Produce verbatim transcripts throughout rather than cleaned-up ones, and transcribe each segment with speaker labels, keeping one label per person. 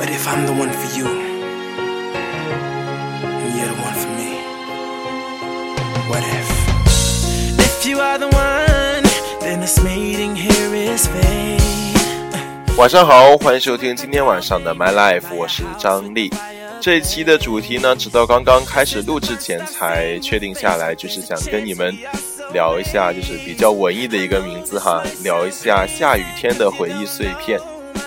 Speaker 1: What if I'm the one for you and you're the one for me? What if If you are the one, then this meeting here is fate.
Speaker 2: 晚上好，欢迎收听今天晚上的 My Life， 我是张力。这一期的主题呢，直到刚刚开始录制前才确定下来，就是想跟你们聊一下，就是比较文艺的一个名字哈，聊一下下雨天的回忆碎片。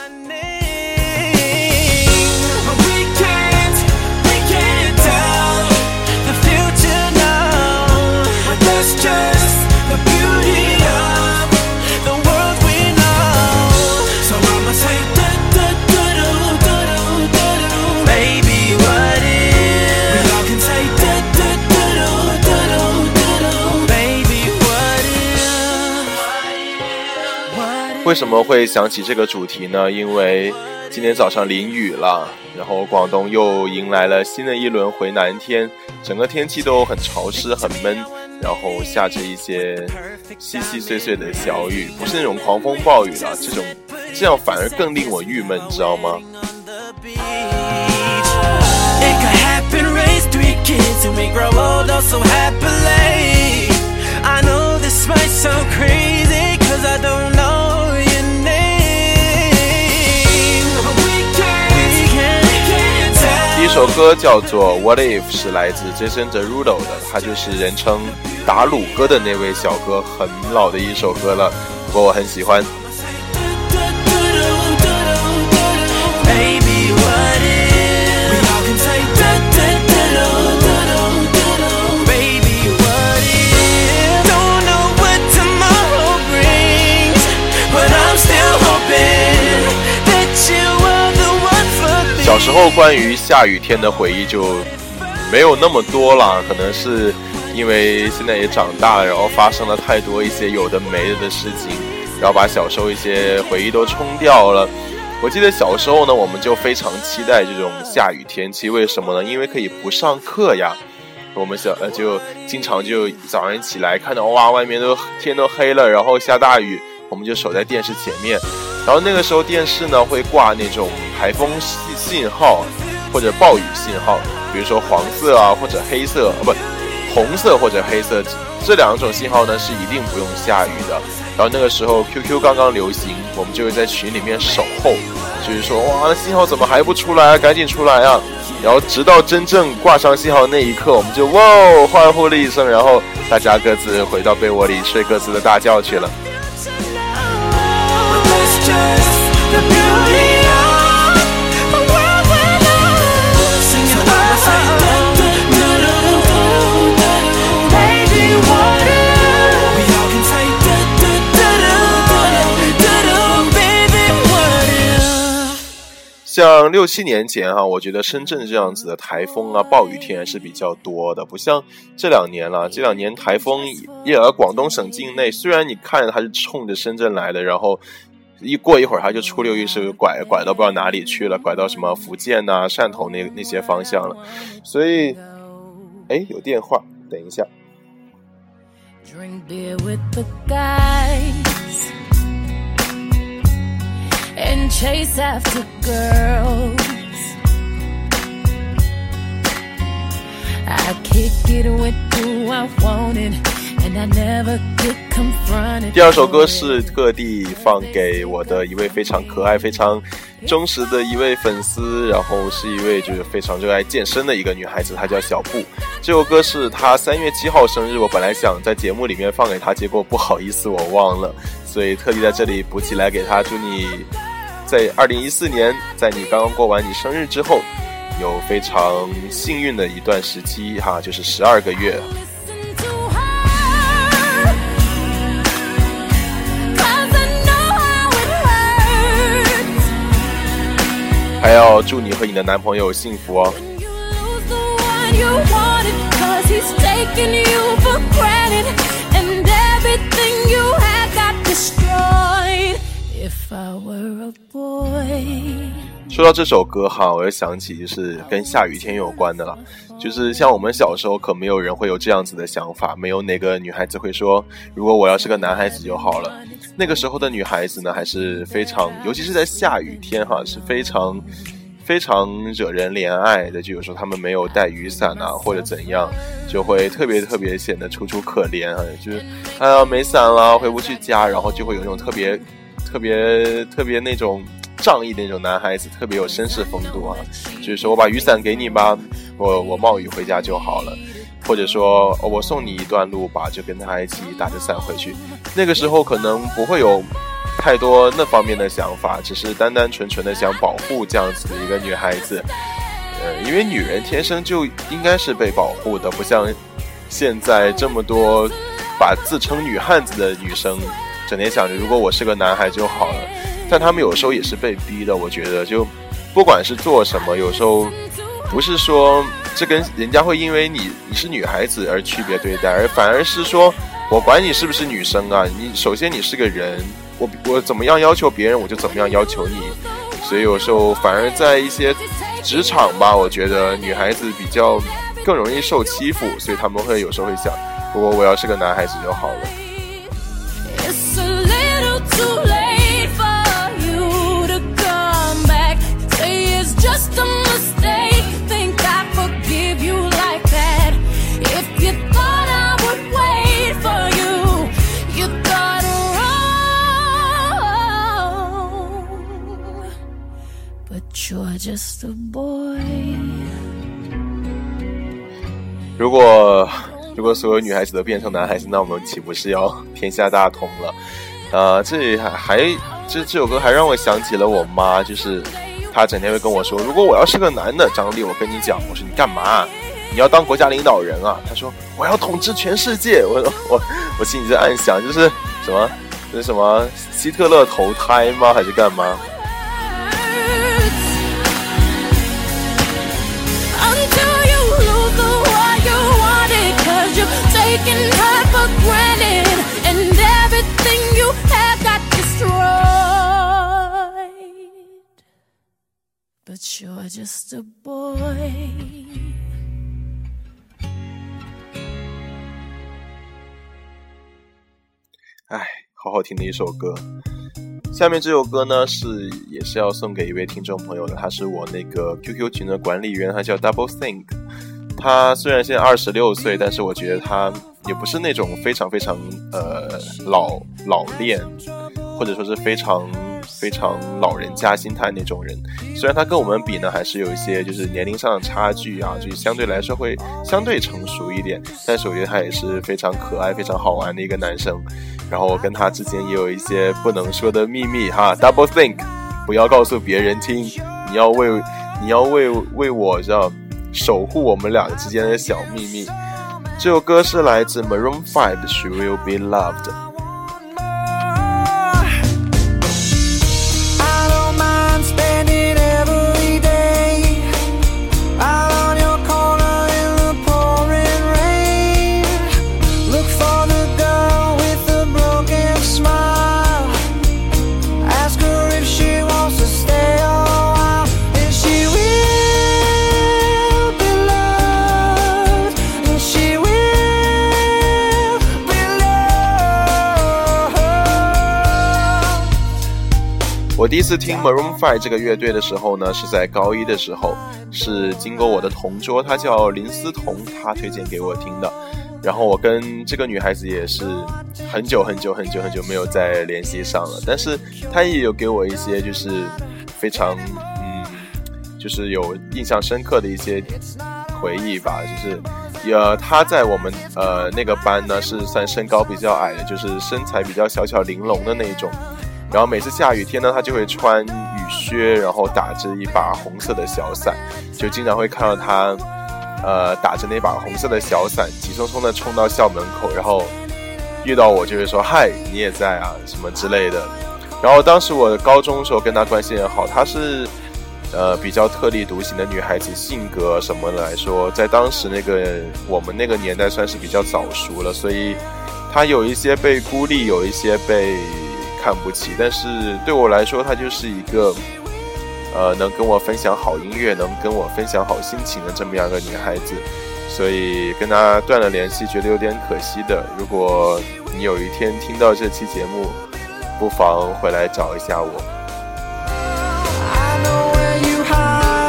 Speaker 2: 为什么会想起这个主题呢？因为今天早上淋雨了，然后广东又迎来了新的一轮回南天，整个天气都很潮湿很闷，然后下着一些细细碎碎的小雨，不是那种狂风暴雨了，这种这样反而更令我郁闷，你知道吗？第一首歌叫做 What If， 是来自 Jason Derulo 的，他就是人称打鲁歌的那位小哥，很老的一首歌了，不过我很喜欢。小时候关于下雨天的回忆就没有那么多了，可能是因为现在也长大了，然后发生了太多一些有的没的的事情，然后把小时候一些回忆都冲掉了。我记得小时候呢，我们就非常期待这种下雨天气，为什么呢？因为可以不上课呀。我们小呃就经常就早上起来看到哇，外面都天都黑了，然后下大雨，我们就守在电视前面。然后那个时候电视呢会挂那种台风信号或者暴雨信号，比如说黄色啊或者黑色，啊不，红色或者黑色，这两种信号呢是一定不用下雨的。然后那个时候 Q Q 刚刚流行，我们就会在群里面守候，就是说哇，那信号怎么还不出来啊，赶紧出来啊！然后直到真正挂上信号的那一刻，我们就哇欢呼了一声，然后大家各自回到被窝里睡各自的大觉去了。像六七年前哈，我觉得深圳这样子的台风啊、暴雨天是比较多的，不像这两年了。这两年台风也ở广东省境内，虽然你看着它是冲着深圳来的，然后一过一会儿它就出溜一手拐拐到不知道哪里去了，拐到什么福建啊、汕头那那些方向了。所以，哎，有电话，等一下。Drink beer with the guys.And chase after girls. I kick it with who I wanted, and I never get confronted. 第二首歌是特地放给我的一位非常可爱、非常忠实的一位粉丝，然后是一位就是非常热爱健身的一个女孩子，她叫小布。这首歌是她三月七号生日，我本来想在节目里面放给她，结果不好意思我忘了，所以特地在这里补起来给她，祝你在二零一四年，在你刚刚过完你生日之后，有非常幸运的一段时期哈，就是十二个月。还要祝你和你的男朋友幸福哦。说到这首歌哈，我又想起就是跟下雨天有关的了，就是像我们小时候可没有人会有这样子的想法，没有哪个女孩子会说如果我要是个男孩子就好了。那个时候的女孩子呢还是非常，尤其是在下雨天哈，是非常非常惹人怜爱的，就有时候他们没有带雨伞啊，或者怎样，就会特别特别显得楚楚可怜啊，就是哎呀没伞了，回不去家，然后就会有那种特别特别特别那种仗义的那种男孩子，特别有绅士风度啊，就是说我把雨伞给你吧，我我冒雨回家就好了，或者说、哦、我送你一段路吧，就跟他一起打着伞回去。那个时候可能不会有太多那方面的想法，只是单单纯纯的想保护这样子的一个女孩子。呃，因为女人天生就应该是被保护的，不像现在这么多把自称女汉子的女生整天想着如果我是个男孩就好了，但他们有时候也是被逼的。我觉得就不管是做什么，有时候不是说这跟人家会因为你你是女孩子而区别对待，而反而是说我管你是不是女生啊，你首先你是个人，我我怎么样要求别人我就怎么样要求你。所以有时候反而在一些职场吧，我觉得女孩子比较更容易受欺负，所以他们会有时候会想，如果我要是个男孩子就好了。
Speaker 1: Just a boy.
Speaker 2: 如果如果所有女孩子都变成男孩子，那我们岂不是要天下大同了？呃，这里还还这这首歌还让我想起了我妈，就是她整天会跟我说，如果我要是个男的，张力，我跟你讲，我说你干嘛？你要当国家领导人啊？她说我要统治全世界。我我我心里在暗想，就是什么，这是什么希特勒投胎吗？还是干嘛？
Speaker 1: Taking her for granted, and everything you have got destroyed. But you're just a boy.
Speaker 2: 哎，好好听的一首歌。下面这首歌呢，是也是要送给一位听众朋友的，他是我那个 Q Q 群的管理员，他叫 Double Think。他虽然现在二十六岁，但是我觉得他也不是那种非常非常呃老老练，或者说是非常非常老人家心态那种人。虽然他跟我们比呢，还是有一些就是年龄上的差距啊，就是相对来说会相对成熟一点，但是我觉得他也是非常可爱、非常好玩的一个男生。然后我跟他之间也有一些不能说的秘密哈 ，Double Think， 不要告诉别人听，你要为你要为为我知道。守护我们两个之间的小秘密。这首歌是来自 Maroon five 的 She Will Be Loved。我第一次听 Maroon five 这个乐队的时候呢，是在高一的时候，是经过我的同桌，她叫林思彤，她推荐给我听的。然后我跟这个女孩子也是很久很久很久很久没有再联系上了，但是她也有给我一些就是非常嗯，就是有印象深刻的一些回忆吧，就是呃，她在我们呃那个班呢是算身高比较矮的，就是身材比较小巧玲珑的那种。然后每次下雨天呢，他就会穿雨靴，然后打着一把红色的小伞，就经常会看到他呃打着那把红色的小伞急匆匆的冲到校门口，然后遇到我就会说嗨你也在啊什么之类的。然后当时我高中的时候跟他关系很好，她是呃比较特立独行的女孩子，性格什么的来说在当时那个我们那个年代算是比较早熟了，所以她有一些被孤立，有一些被看不起，但是对我来说她就是一个呃能跟我分享好音乐，能跟我分享好心情的这么样一个女孩子，所以跟她断了联系觉得有点可惜的。如果你有一天听到这期节目，不妨回来找一下我。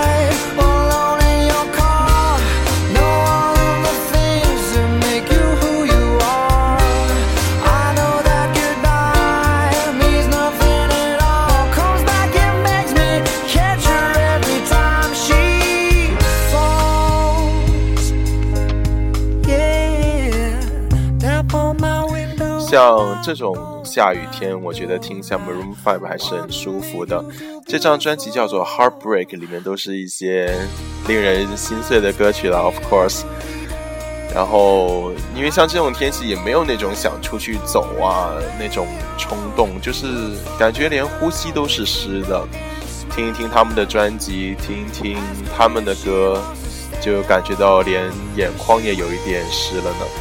Speaker 2: 像这种下雨天，我觉得听像 Maroon 五还是很舒服的。这张专辑叫做 Heartbreak， 里面都是一些令人心碎的歌曲了 of course。然后因为像这种天气也没有那种想出去走啊那种冲动，就是感觉连呼吸都是湿的。听一听他们的专辑，听一听他们的歌，就感觉到连眼眶也有一点湿了呢。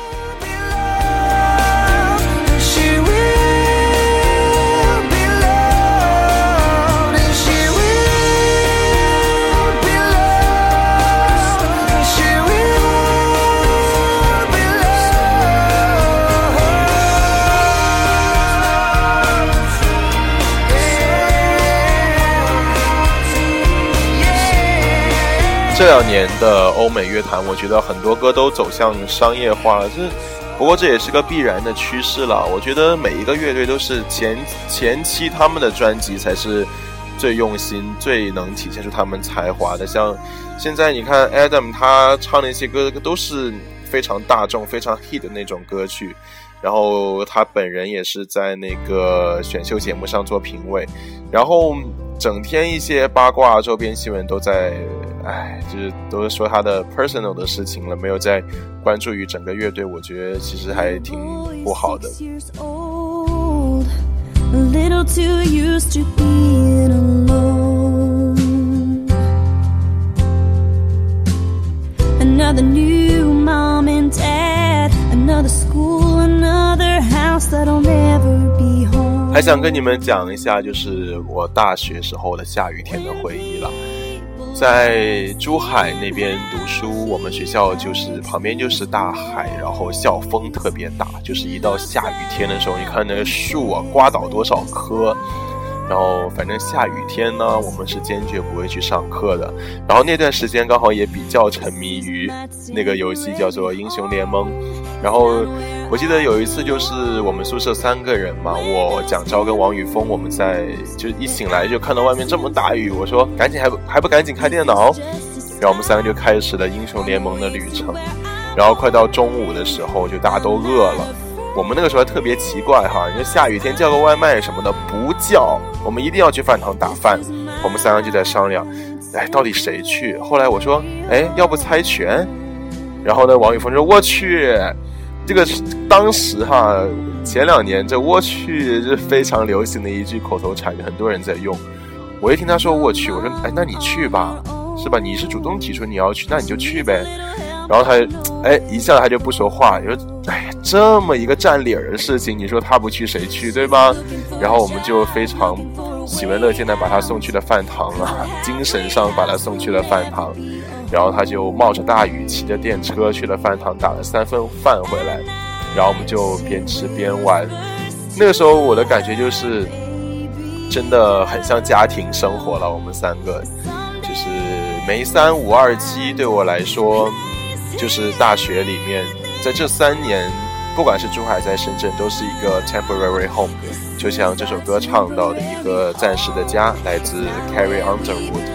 Speaker 2: 这两年的欧美乐坛，我觉得很多歌都走向商业化了，这不过这也是个必然的趋势了。我觉得每一个乐队都是前前期他们的专辑才是最用心、最能体现出他们才华的。像现在你看 Adam 他唱的一些歌都是非常大众、非常 hit 的那种歌曲，然后他本人也是在那个选秀节目上做评委，然后整天一些八卦周边新闻都在，哎，就是都是说他的 personal 的事情了，没有在关注于整个乐队，我觉得其实还挺不好的。Another new mom and dad, another school, another house that'll never be home. 还想跟你们讲一下，就是我大学时候的下雨天的回忆了。在珠海那边读书，我们学校就是旁边就是大海，然后校风特别大，就是一到下雨天的时候，你看那个树啊，刮倒多少棵。然后反正下雨天呢，我们是坚决不会去上课的。然后那段时间刚好也比较沉迷于那个游戏叫做英雄联盟。然后我记得有一次就是我们宿舍三个人嘛，我蒋昭跟王宇峰，我们在就一醒来就看到外面这么大雨，我说赶紧还不还不赶紧开电脑。然后我们三个就开始了英雄联盟的旅程。然后快到中午的时候，就大家都饿了。我们那个时候还特别奇怪哈，你说下雨天叫个外卖什么的不叫，我们一定要去饭堂打饭。我们三个就在商量，哎，到底谁去？后来我说，哎，要不猜拳？然后呢，王宇峰说，我去，这个当时哈，前两年这我去是非常流行的一句口头禅，很多人在用。我一听他说我去，我说，哎，那你去吧，是吧？你是主动提出你要去，那你就去呗。然后他，哎，一下他就不说话，你说，哎呀，这么一个占理儿的事情，你说他不去谁去，对吧？然后我们就非常喜闻乐见的把他送去了饭堂啊，精神上把他送去了饭堂。然后他就冒着大雨骑着电车去了饭堂，打了三份饭回来，然后我们就边吃边玩。那个时候我的感觉就是真的很像家庭生活了，我们三个就是没三五二七，对我来说就是大学里面，在这三年不管是珠海在深圳都是一个 temporary home， 就像这首歌唱到的一个暂时的家，来自 Carrie Underwood。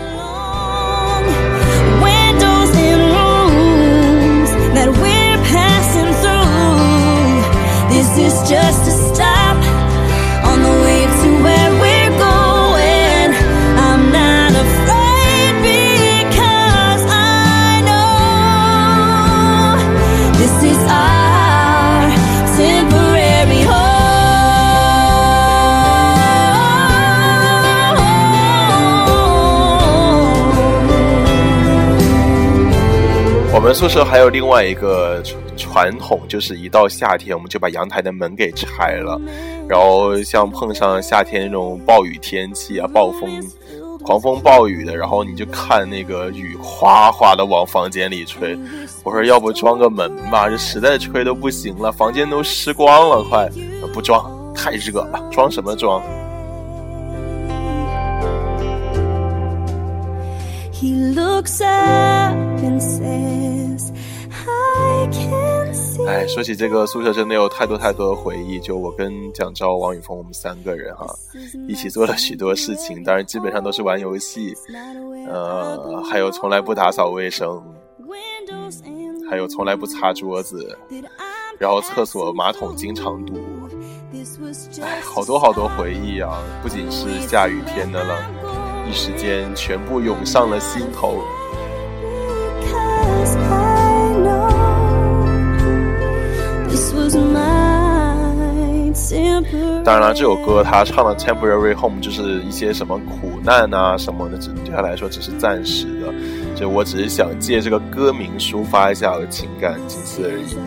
Speaker 3: Windows in rooms that we're passing through, this is just a stop on the way to where we're going. I'm not afraid because I know this is our temporary home.
Speaker 2: 我们宿舍还有另外一个传统，就是一到夏天我们就把阳台的门给拆了，然后像碰上夏天那种暴雨天气啊，暴风狂风暴雨的，然后你就看那个雨哗哗的往房间里吹，我说要不装个门吧，这实在吹都不行了，房间都湿光了，快不装太热了，装什么装。
Speaker 3: He looks up and says, I can see.
Speaker 2: 哎，说起这个宿舍真的有太多太多的回忆，就我跟蒋昭、王宇峰我们三个人啊，一起做了许多事情，当然基本上都是玩游戏，呃，还有从来不打扫卫生，嗯，还有从来不擦桌子， 然后厕所马桶经常堵。哎，好多好多回忆啊，不仅是下雨天的了，一时间全部涌上了心头。当然了，这首歌他唱的 Temporary Home 就是一些什么苦难啊什么的，对他来说只是暂时的，就我只是想借这个歌名抒发一下我的情感，仅此而已。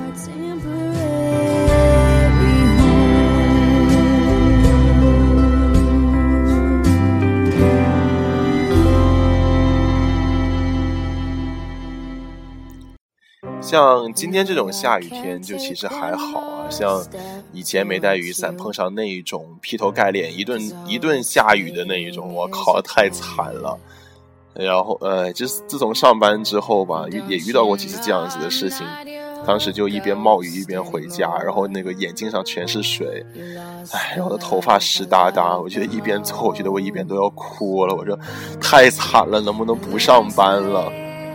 Speaker 2: 像今天这种下雨天就其实还好啊，像以前没带雨伞碰上那一种劈头盖脸一顿一顿下雨的那一种，我靠太惨了。然后呃，就是自从上班之后吧，也遇到过几次这样子的事情，当时就一边冒雨一边回家，然后那个眼镜上全是水，哎，然后我的头发湿哒哒，我觉得一边走我觉得我一边都要哭了，我说太惨了，能不能不上班了。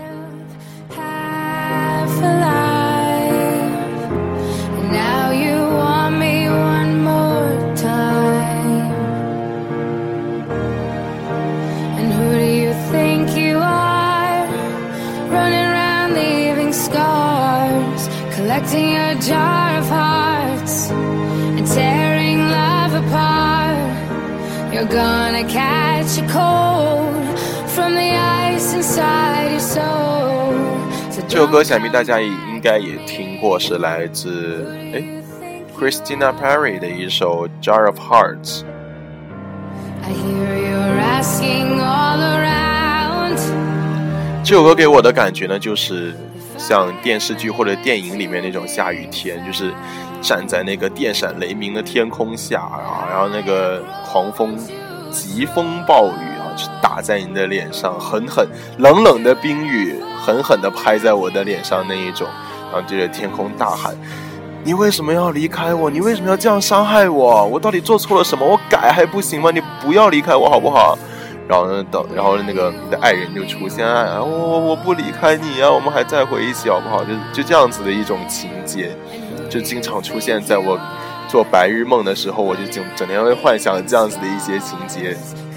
Speaker 3: Collecting a jar of hearts and tearing love apart. You're gonna catch a cold from the ice inside your soul.
Speaker 2: 这首歌想必大家应该也听过，是来自诶 Christina Perri 的一首 Jar of Hearts。
Speaker 3: I hear you're asking all around.
Speaker 2: 这首歌给我的感觉呢，就是像电视剧或者电影里面那种下雨天，就是站在那个电闪雷鸣的天空下啊，然后那个狂风疾风暴雨啊，就打在你的脸上，狠狠冷冷的冰雨狠狠地拍在我的脸上那一种，然后对着天空大喊，你为什么要离开我？你为什么要这样伤害我？我到底做错了什么？我改还不行吗？你不要离开我好不好？然后呢，等，然后那个你的爱人就出现，啊，我我不离开你啊，我们还再回一起好不好？就就这样子的一种情节，就经常出现在我做白日梦的时候，我就整整天会幻想这样子的一些情节。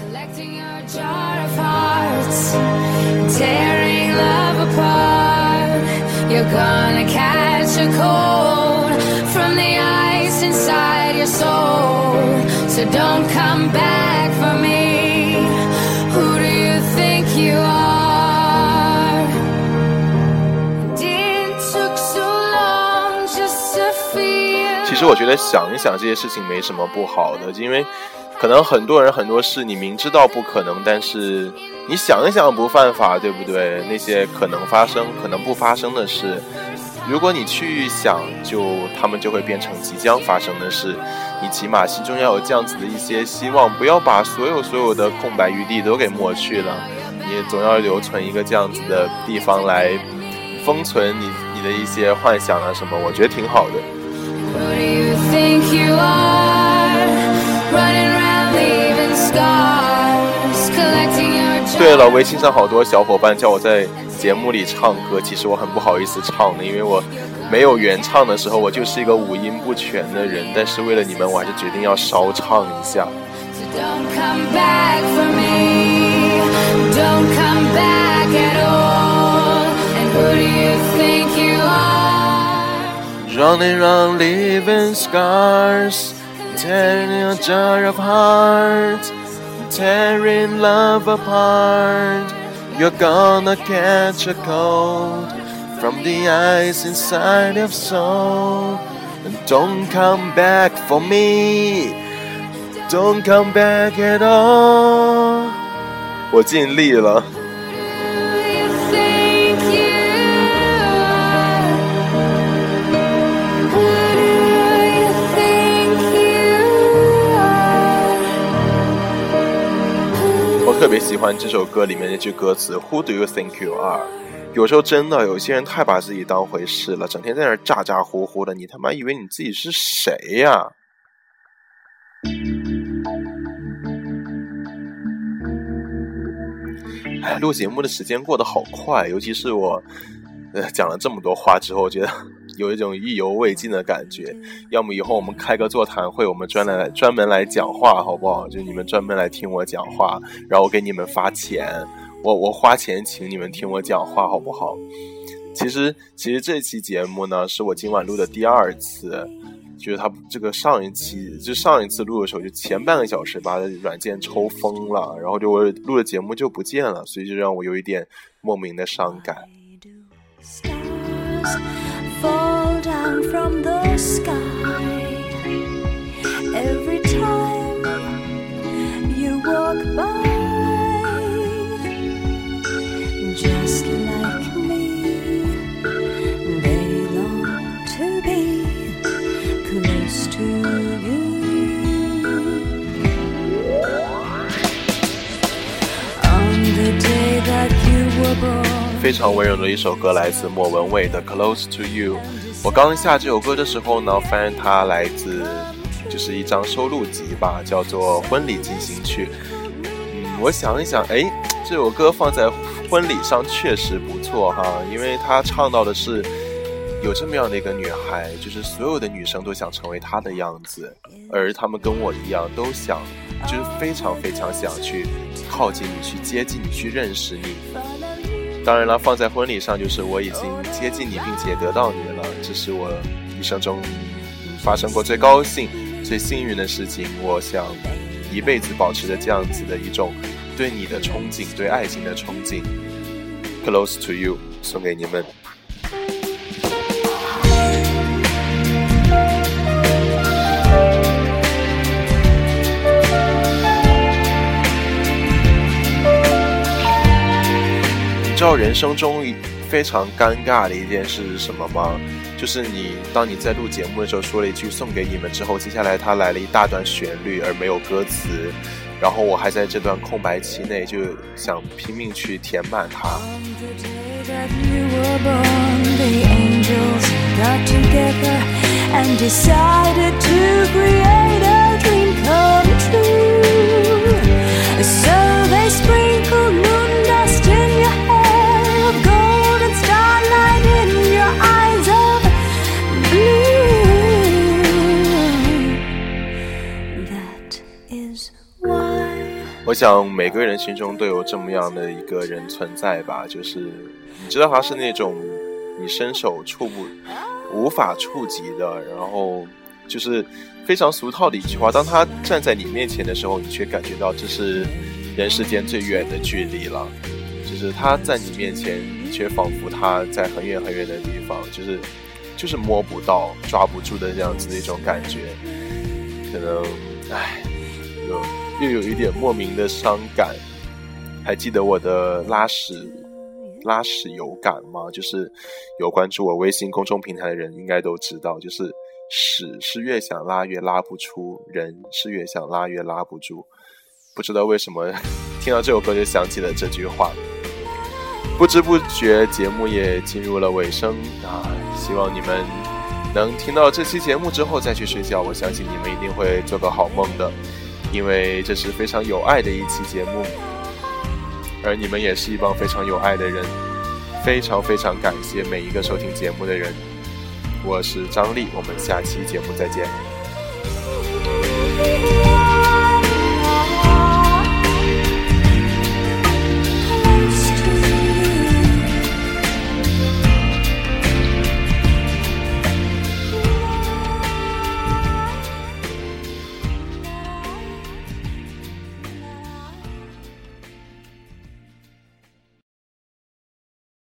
Speaker 3: You are. It took so long just to feel.
Speaker 2: 其实我觉得想一想这些事情没什么不好的，因为可能很多人很多事你明知道不可能，但是你想一想不犯法，对不对？那些可能发生可能不发生的事，如果你去想，就他们就会变成即将发生的事。你起码心中要有这样子的一些希望，不要把所有所有的空白余地都给抹去了，你总要留存一个这样子的地方来封存你你的一些幻想啊什么，我觉得挺好的。对了，微信上好多小伙伴叫我在节目里唱歌，其实我很不好意思唱的，因为我没有原唱的时候，我就是一个五音不全的人，但是为了你们，我还是决定要稍唱一下。Don't come back for me, don't come back at all, and who do you think you are? Running around leaving scars, tearing a jar of hearts, tearing love apart. You're gonna catch a cold from the ice inside your soul, and don't come back for me.Don't come back at all. 我尽力了。我特别喜欢这首歌里面那句歌词 Who do you think you are？ 有时候真的有些人太把自己当回事了，整天在那儿咋咋呼呼的，你他妈以为你自己是谁呀？哎，录节目的时间过得好快，尤其是我呃讲了这么多话之后，我觉得有一种意犹未尽的感觉。要么以后我们开个座谈会，我们专来专门来讲话好不好？就你们专门来听我讲话，然后我给你们发钱，我我花钱请你们听我讲话好不好？其实其实这期节目呢是我今晚录的第二次，就是他这个上一期就上一次录的时候就前半个小时把软件抽疯了，然后就我录的节目就不见了，所以就让我有一点莫名的伤感。
Speaker 3: Fall down from the sky every time you walk by, just like me, they long to be close to you. On the day that you were born,
Speaker 2: 非常温柔的一首歌，来自莫文蔚的 Close to You。 我刚下这首歌的时候呢，发现它来自就是一张收录集吧，叫做婚礼进行曲。嗯，我想一想，哎，这首歌放在婚礼上确实不错哈，因为它唱到的是有这么样的一个女孩，就是所有的女生都想成为她的样子，而她们跟我一样都想，就是非常非常想去靠近你，去接近你，去认识你。当然了，放在婚礼上就是我已经接近你并且得到你了，这是我一生中发生过最高兴最幸运的事情。我想一辈子保持着这样子的一种对你的憧憬，对爱情的憧憬。 Close to You 送给你们。你知道人生中非常尴尬的一件事是什么吗？就是你当你在录节目的时候说了一句送给你们之后，接下来他来了一大段旋律而没有歌词，然后我还在这段空白期内就想拼命去填满它。我想每个人心中都有这么样的一个人存在吧，就是你知道他是那种你伸手触不无法触及的，然后就是非常俗套的一句话，当他站在你面前的时候，你却感觉到这是人世间最远的距离了，就是他在你面前，你却仿佛他在很远很远的地方，就是就是摸不到抓不住的这样子的一种感觉。可能唉有又有一点莫名的伤感。还记得我的拉屎拉屎有感吗？就是有关注我微信公众平台的人应该都知道，就是屎是越想拉越拉不出，人是越想拉越拉不住。不知道为什么听到这首歌就想起了这句话。不知不觉节目也进入了尾声啊，希望你们能听到这期节目之后再去睡觉，我相信你们一定会做个好梦的，因为这是非常有爱的一期节目，而你们也是一帮非常有爱的人，非常非常感谢每一个收听节目的人。我是张力，我们下期节目再见。